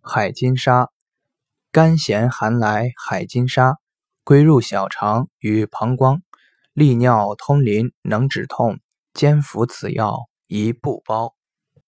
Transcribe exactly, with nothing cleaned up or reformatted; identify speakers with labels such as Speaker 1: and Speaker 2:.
Speaker 1: 海金沙，甘咸寒来海金沙，归入小肠与膀胱，利尿通淋，能止痛，兼服此药宜不包。